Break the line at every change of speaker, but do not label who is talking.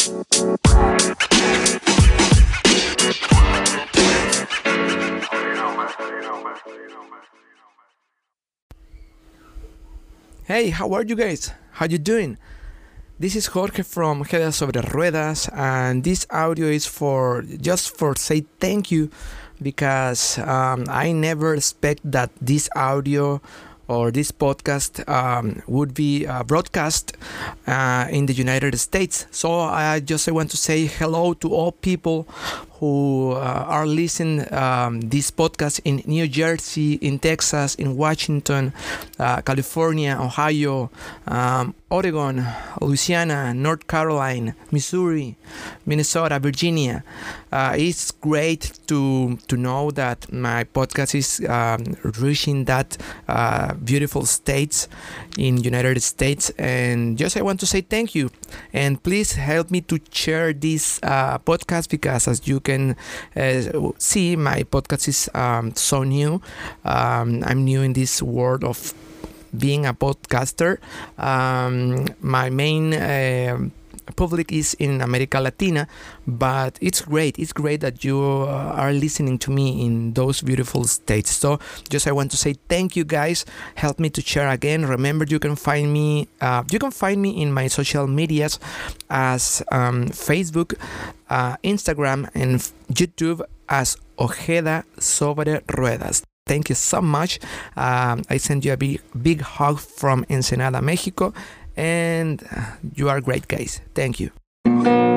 Hey, how are you guys? How you doing? This is Jorge from Ojeda Sobre Ruedas, and this audio is for just for say thank you because I never expect that this audio or this podcast would be broadcast in the United States. So I just want to say hello to all people who are listening this podcast in New Jersey, in Texas, in Washington, California, Ohio, Oregon, Louisiana, North Carolina, Missouri, Minnesota, Virginia. It's great to know that my podcast is reaching that beautiful states in United States, and just I want to say thank you, and please help me to share this podcast because as you can see, my podcast is so new. I'm new in this world of being a podcaster. My main public is in America Latina, but it's great that you are listening to me in those beautiful states. So just I want to say thank you guys. Help me to share again. Remember, you can find me in my social medias as Facebook, Instagram, and YouTube as Ojeda Sobre Ruedas. Thank you so much. I send you a big hug from Ensenada, Mexico, and you are great guys. Thank you.